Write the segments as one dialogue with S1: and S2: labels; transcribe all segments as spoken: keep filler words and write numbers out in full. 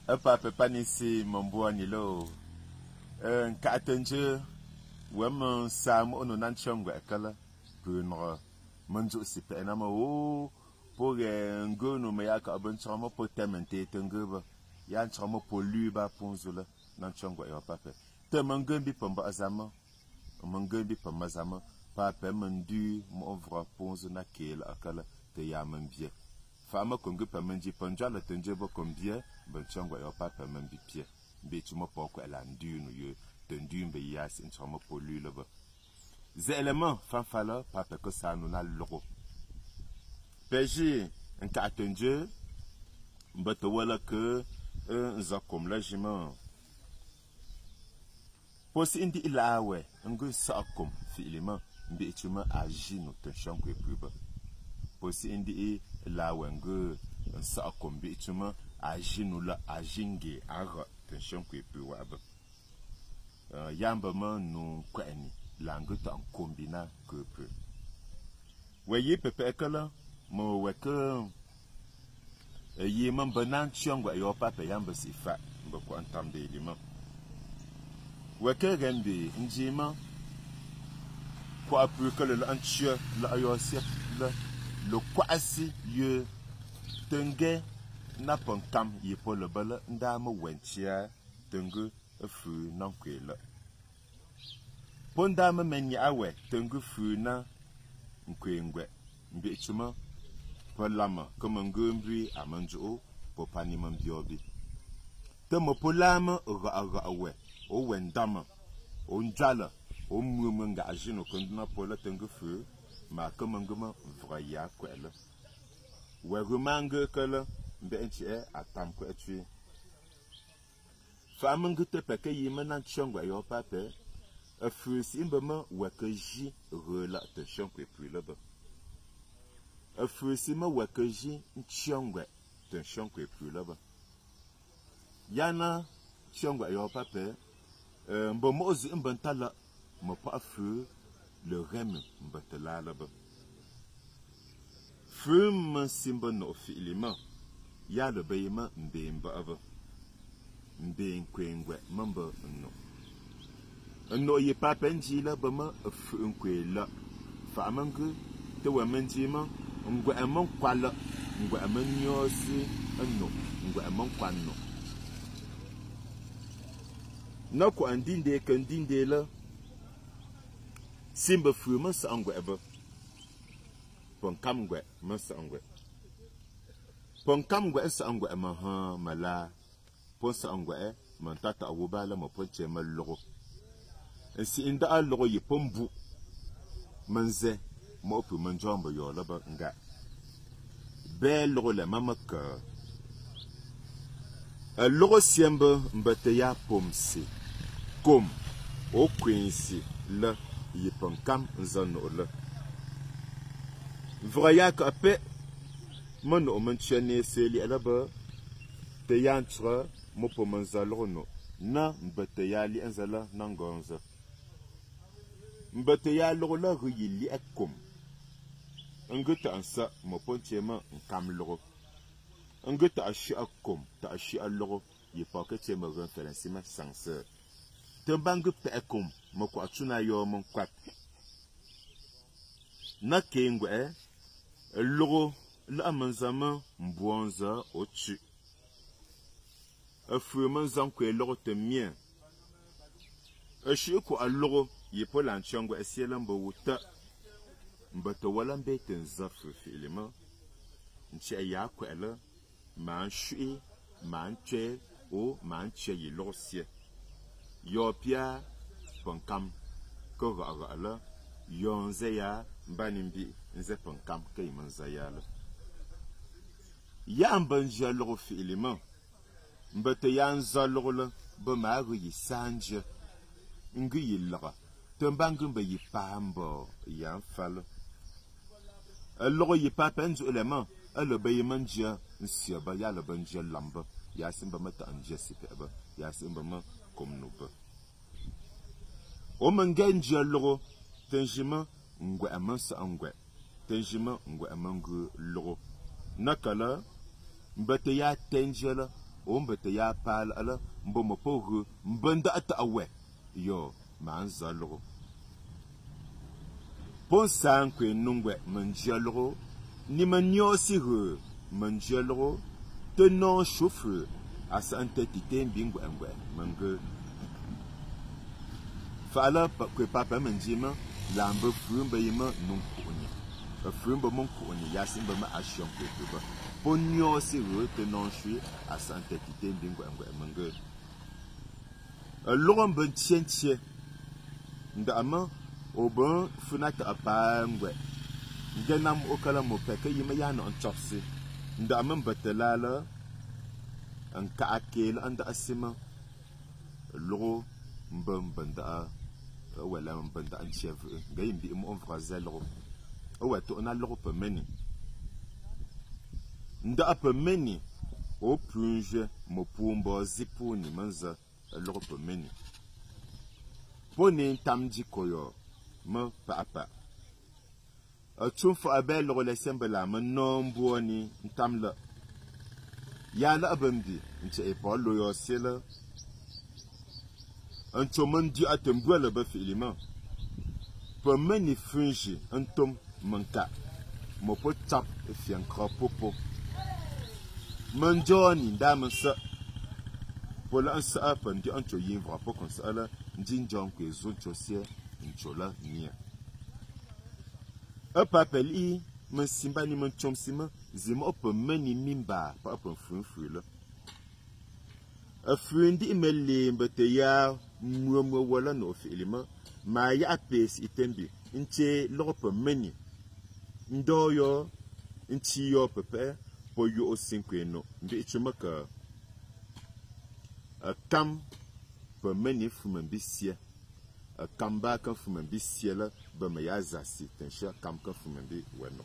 S1: Apa pepa ni si mamboa ni lo. Euh ka tenje wem sam ono nan chongwe kala punra manju si pe na ma o pour ngono me ya ka ban chama po temente tengeba ya chama po luba ponzula nan chongwe yo pape te mangambi pamba azama mangambi pamba azama pape mandu mo vra ponzo na kela akala te ya mambie fama kongo pa manji panjala tenje bo kombie ban chongwe yo pape mambi pie be tuma poko ela ndu no yo tendu mbe yas in chama po lula ba ze element fanfala pape ko sanu na logo peji en ka tenje mbato wala ke nza kom la jima posi indi ilawe ngu sa kom fi ilima mbe tuma aji no tension ko epuba posi indi ilawe ngu sa kom mbe tuma aji no la ajinge ara tension ko epuwa ba yamba ma no kwani languta en combina que peu voyez pepe kala mo weka yi man banan changwa yo papa yamba sifa mbo ko antam de lima weka gambe njima ko apu kala la anchia la yo sep la le kwasi ye tenge na pankam yi pole bala ndama wenchia tenge fu nankwela ponda ma menya awe tengu funa nkwengwe mbi chuma polama kama ngombi amanjo popani mambiobi temo polama ga ga awe o wendama o njala o mumunga ajino konduna pola tengu fu ma kama ngoma vraya kwela we rumanga kala mbi enchi e atam ko etui fama ngute peke yimana chongwa yo pape a fusi imbama wakaji rela tension ko epu là ba a fusi ma wakaji nchongwe tension ko epu là ba yana chongwe yo pape euh mbomo ozi mbantala mo pa fu le rem mbatala là ba fum simba no filima ya le bayima mbemba ava mbe nkwengwe mamba no no ye pa penji la bama fu nkwela fa mangu te wa menji ma ngwa amon kwala ngwa amanyosi no ngwa amon kwano na ko andinde kan dinde la simba fu ma sa ngwa eba pon kam ngwa ma sa ngwa pon kam ngwa sa ngwa ma ha mala pon sa ngwa e man tata awubala mo ponche ma logo si inda allogo yi pombu manze mo pu manjombo yo laba nga be logo le mamaka a logo siemba mbate ya pomsi kom o kwinsi la yi pankam nzano la vraya ka pe mono o manchene seli alaba te yantra mo po manzalo no na mbate ya li anzala nangonza mbate ya logo la yili akom nguta ansa mo ponchema nkam logo nguta ashi akom ta ashi logo yi pakete mo reference ma sanse tembangu pe akom mo ko atuna yo mo kwat na kengwe logo la manzama mbonza ochi afu manzam ko logo temien ashi ko logo yipo lanchongo esielambo wuta mbato wala mbete nzafu filima nche ya kwela man shui man che o man che yi losie yo pia ponkam ko ga ala yonze ya mbanimbi nze ponkam kay manza yala ya mbanja logo filima mbato yanza logo la ba ma yi sanje ngi yillaga tembangu ba yi pambo yan falo a logo yi papenzu element a le bayi manja nsia ba ya le banja lamba ya simba mata anja sipe ba ya simba ma komno ba o mangenja logo tenjima ngwe amansa ngwe tenjima ngwe amangu logo nakala mbate ya tenjela o mbete ya pal ala mbo mo po mbanda ata awe yo man zalro pon san kwe nungwe manjalo ni manyo si he manjalo te non chauffeur asa entité mbingo engwe mange fala kwe papa manjima lambe frumba yima nunkuni frumba munkuni yasimba ma action kwe ba ponyo si he te non chui asa entité mbingo engwe mange logon ben tientie ndama oben funata apangwe ngenam okala mo peke yima yana on chopsi ndama mbatelala an ka akel anda asima logo mbam banda wala mbanda an chef ngayimbi mo on frazel logo o wato na logo pe meni nda pe meni o plunge mo pumbo zipuni manza logo pe meni poni tamji koyo me papa a tsofa abel lo le sembla me nombo ni ntamla ya la abambi nche e pa lo yo sela un tomen di atembo le ba filima pe meni fungi un tom manka mo po tap e fian krapopo manjoni ndamansa pola ansa apan di ancho yivra po konsala ndinjon ke zoncho sie nchola nia a papeli men simba ni men chomsima zima op meni mimba pa op funfula a fundi imele mbete ya muamwa wala no filima ma ya apes itembi nche lop meni ndoyo nchi yo pepe po yo osinkweno mbi chumaka a kam pe meni fumambisia a kamba kan fumambi siela ba ma ya zasi tensha kam kan fumambi weno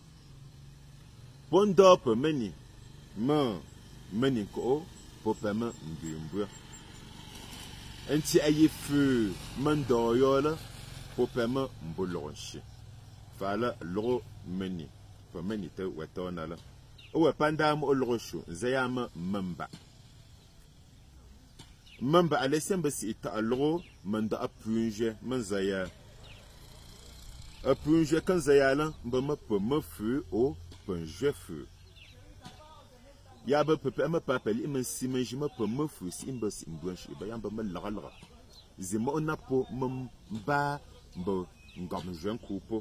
S1: pondo pe meni ma meni ko po pe ma mbimbu enti ayi fu mando yo la po pe ma mbulonshi fala lo meni pe meni te wetona la o we panda mo loroshu zayama mamba mamba alesemba si ita alo manda apunje manzaya apunje kan zayala mba ma pe ma fu o punje fu ya ba pepe ma papeli men simenji ma pe ma fu si imba si mbwanshi ba yamba ma lagalaga zima onapo mba mba ngam jen kupo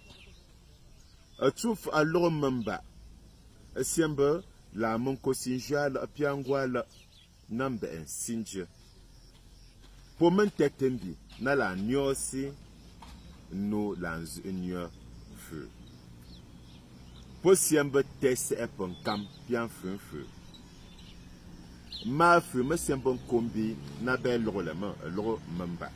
S1: atuf alo mamba asemba la mon kosinja la piangwa la nambe en sinje po men tektembi na la nyosi no lanz enyo fu po siembe tese epon kam pian fu fu ma fu me siembe kombi na be lo le ma lo mamba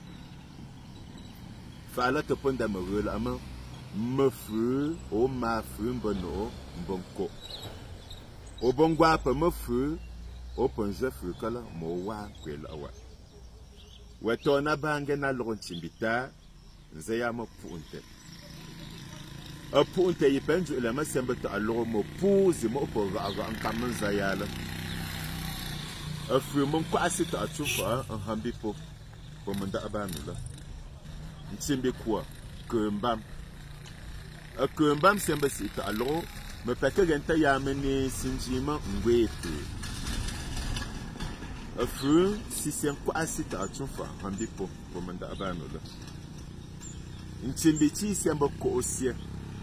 S1: fa la te ponda me rela ma me fu o ma fu mbono mbonko o bongwa pa me fu open jefu kala mo wa kwela wa wetona bange na lo nchimbita nze ya mo punte a punte yipenju ile masembe to alo mo puzi mo po ga ga ankaman zayala a fu mo kwa asita atufa an hambi po po manda abanula nchimbi kwa kumbam a kumbam sembe sita alo me peke genta ya meni sinjima ngwetu a fu si sen kwa asita atufa hambi po po manda abanula nchimbi chi sembe ko osie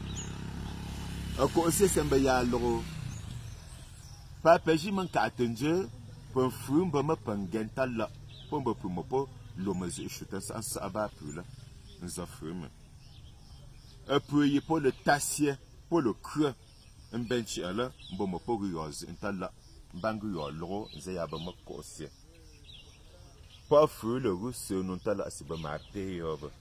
S1: a ko osie sembe ya lo pa peji man ka atenje po fu mba ma pangenta la po mba pu mo po lo ma zi shuta sa sa aba pu la nza fu me a pu yi po le tasie po le creux un benchi ala mbo mo po rioz intala bangu yo lo nze ya ba ma ko osie pa fu le russe non tala asiba ma pe yo ba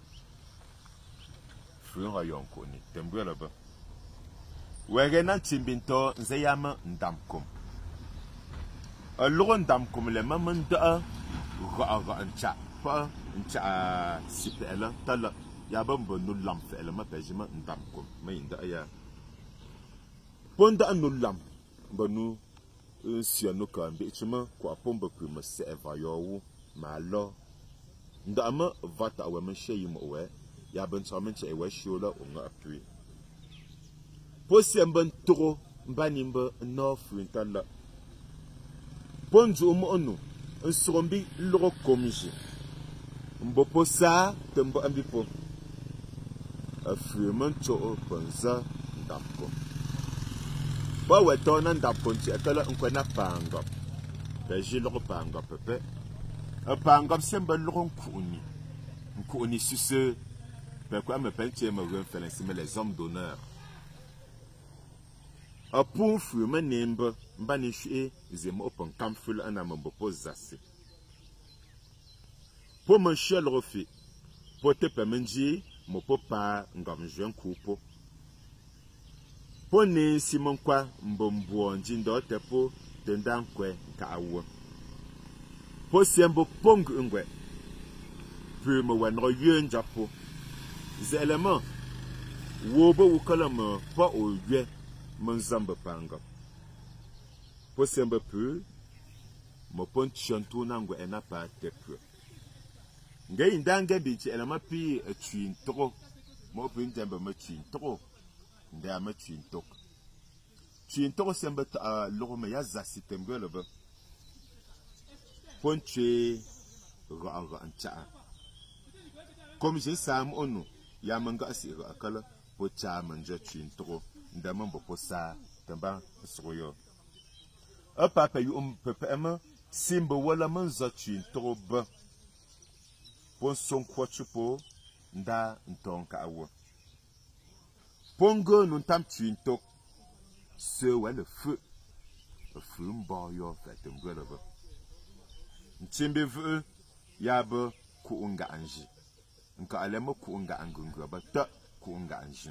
S1: fu ra yon ko ni tembu la ba wege na chimbinto nze ya ma ndamkom a lo ndamkom le ma manda ra ra ncha pa ncha sipela tala ya ba mbo no lam fela ma pejima ndamkom ma inda ya ponda no lam mbo no un siano ka mbichuma kwa pomba ku ma se eva yo ma lo nda ma vata awe ma sheyi mo we ya ban chamen che we shola o nga apui posi amban toro mbanimba no fuintala ponju mo onu un surombi loro komji mbo posa tembo ambipo afirman cho panza ndapko ba weto na ndapko nti akala nkwana panga ba jilo panga pepe a panga semba loro nkuni nkuni suse ba kwa me pentie ma wen felensi me les hommes d'honneur a pour firman nemba mbani hwe zema open kamful ana mbo pozase po man shel rofi po te pemenji mo popa ngam jwen kupo po ne simon kwa mbombo njindo te po tendan kwe ka awo po sembo pong ngwe pu mo wanro yen japo zelema wo bo wukala mo pa o ywe mon zamba panga po sembo pu mo pon chantu nangwe ena pa te pu ngay ndanga bi ci elama pi twin tro mo pin tembe ma twin tro nda ma twin tok twin tro sembe ta lo me ya za sitembe le ba ponche ra ra ancha comme je sam onu ya manga asira akala po cha manja twin tro nda mambo po sa tamba soyo apa pa yu um pepe ma simbo wala man za twin tro ba pon son kwachupo nda ntonka awo pongo nun tam twintok se wa le feu le feu mbo yo fait ngolo ba ntimbe vu ya ba ku unga anji nka alema ku unga angungu ba ta ku unga anji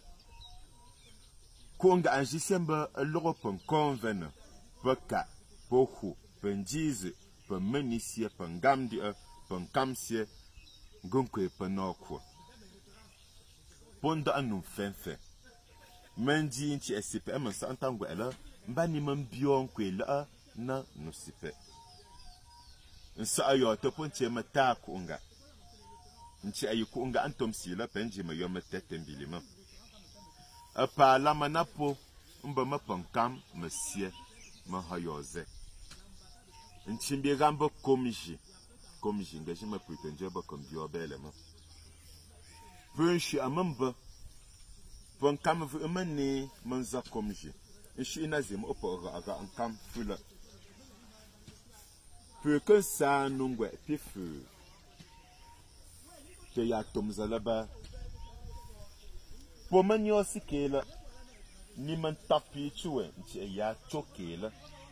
S1: ku unga anji semba logo pon convene baka pohu penjize pe menisie pengamdi pon kamsie gonkwe panoko ponda anu fenfe menji nchi esipe emansa antango ela mbani mambion kwe la na nusipe nsa ayo to ponche mata kunga nchi ayi kunga antom sila penji ma yo matete mbilima apa la manapo mba mapankam masie ma hayoze nchi mbi gamba komiji comme j'engage ma prétention comme Dieu belle ma veux je amamba bon comme vous emmener manza comme je je suis nazim opora aga en camp fula peu que ça nungwe pifu te ya tomza là-bas pour manyo sikela ni man tapi tuwe nti ya chokela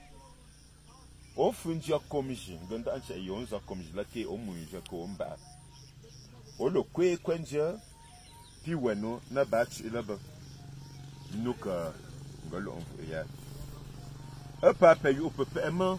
S1: o funja komji nganda ancha yonza komji lake o munja ko mba o lo kwe kwenja pi weno na batch ilaba nuka ngalo on ya e pa pa yu pepe ema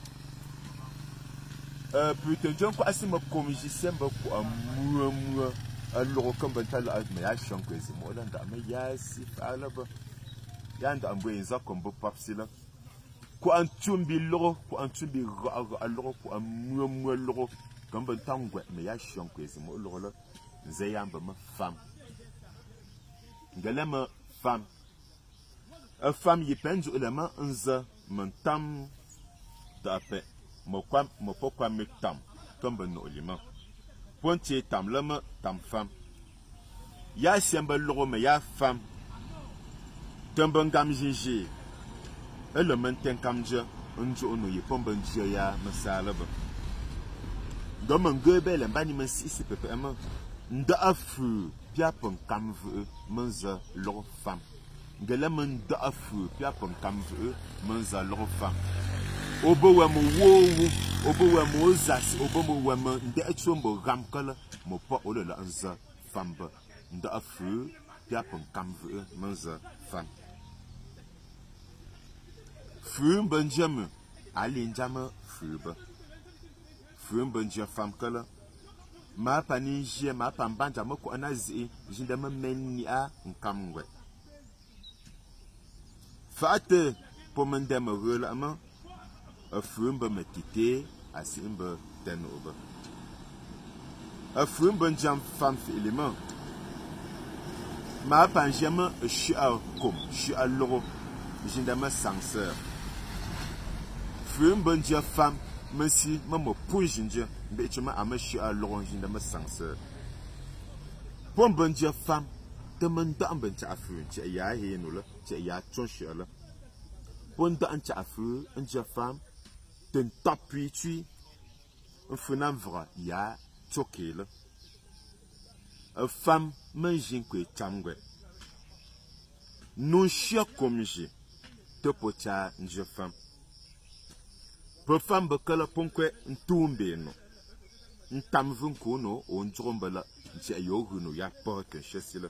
S1: euh putain jon ko asima komji semba ko amu amu allo ko ban tala me ya shanko ezimo landa me ya si alaba yanda ambo enza kombo papsila ko antumbi logo ko antumbi ga logo ko amuamu logo gamba tangwe me ya shonko ezimo logo la nzeyamba ma femme ngalema femme a femme yipenju ulama nza mantam dape mo kwam mo pokwa me tam tombe no lima ponti tam lama tam femme ya semba logo me ya femme tombe ngam jinji ele menten kamje njo no yepomba njia ya masala ba ngoma ngobele mbani masisi pepe ama nda afu pia pon kamvu manza lo fam ngela man da afu pia pon kamvu manza lo fam obo wa mo wo obo wa mo zas obo mo wa mo nda echombo ramkala mo pa olola anza famba nda afu pia pon kamvu manza fam Fum Benjamin, Alin Jama Fuba. Fum Benjamin Famkala. Ma panija, ma pambanja, moko anazi, jindama meni a nkamwe. Fate, pomendema relama, a fru mbe metite asi mbe ten obe a fru mbe jam fam fi element ma pan jama shi a kom shi a logo jindama sangseur fru mbe jam fam Messi, maman pour ginger, mais tu m'as améché à l'orange de ma sangseur. Pour bon Dieu femme, demande un ben à feu, tu y a hier nous là, tu y a ton chien là. Pour un à feu, un Dieu femme, d'un tapis tu, un fenam vrai, y a choqué là. Une femme, mange un peu tangwe. Non chien comme j'ai, te pocha un Dieu femme. Pour femme bekala ponkwe ntumbe no ntam vunko no on drombala nti ayohu no ya pa ke chesile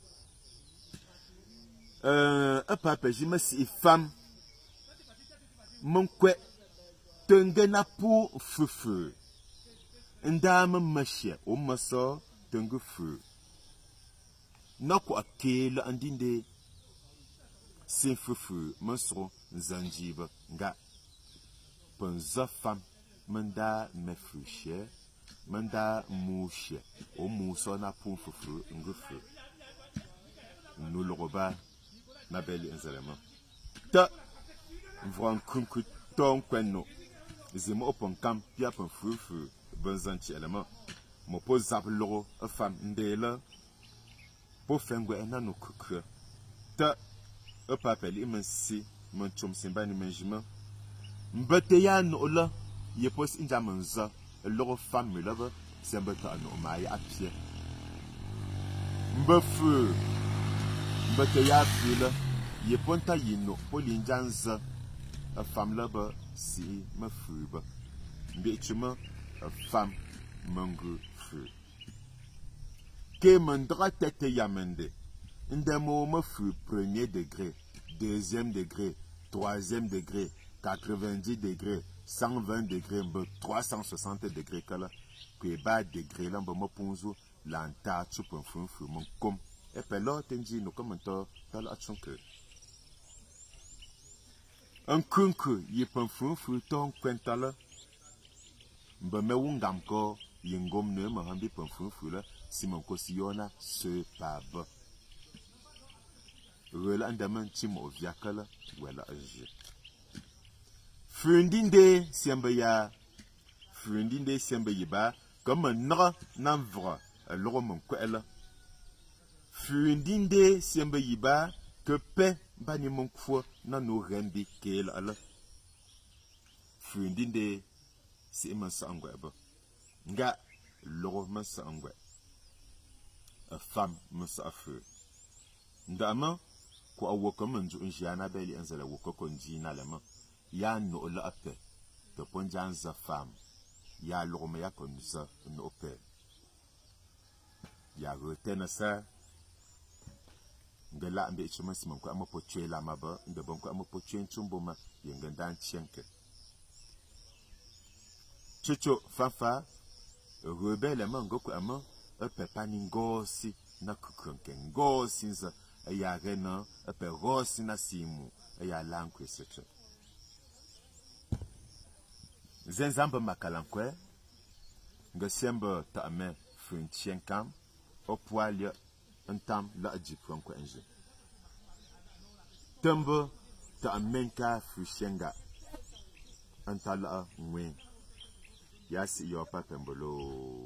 S1: euh a papa jima si femme monkwe tengena pour fufu ndama mashia o maso tengu fu nako akela andinde sin fufu masro zanjiba nga Penza femme, manda me fuchie, manda mouche, au mousson na pour fufu, ngufu. Nous le rebat, ma belle inzalema. Ta, vran kunku ton kweno. Zimo opon kam, pia pen fufu, benzanti element. Mo po zap loro, a femme ndela. Po fengwe ena no kukre. Ta, e papel imensi, mon chum simba ni menjima. Mbeteya no la ye pos inja manza loro femme là ba c'est mbeta no ma ya pie mbefu mbeteya fi la ye ponta yino polinjanza a femme là ba si ma fu ba mbechuma a femme mangu fu ke mandra tete yamende ndemo ma fu premier degré deuxième degré troisième degré quatre-vingt-dix degrés, cent vingt degrés, trois cent soixante degrés, que bas degrés, là, me ponzo, l'anta, tu peux faire mon com. Et puis là, tu dis, nous commentons, t'as l'action que. Un kunku, y peut faire ton quintal. Me me ungam ko, yengom ne me hambi peut faire là, si mon cosillona se pas bas. Relandaman timo viakala, voilà, j'ai. Fundinde siamba ya Fundinde siamba yiba comme nra nanvra loro mon kwela Fundinde siamba yiba que pe bani mon kwo na no rembi kel ala Fundinde si man sangwe ba nga loro man sangwe a femme man sa feu ndama ko awoko man ju njana beli anzala woko konji na lema ya no la ape te ponjan za femme ya lorme ya kon za no pe ya retena sa ngala ambe chuma simon ko amapo chela maba nde bon ko amapo chen chumbo ma yengandan chenke chucho fafa rebele mango ko ama ape pani ngosi na kukunke ngosi za ya rena ape rosi na simu ya lankwe seche Zenzamba makalankwe, ngasemba ta ame funtien kam, opwalia entam la adjipron kwa enje. Tembo ta amenka fushenga, antala ngwen. Yasi yo pa pembolo.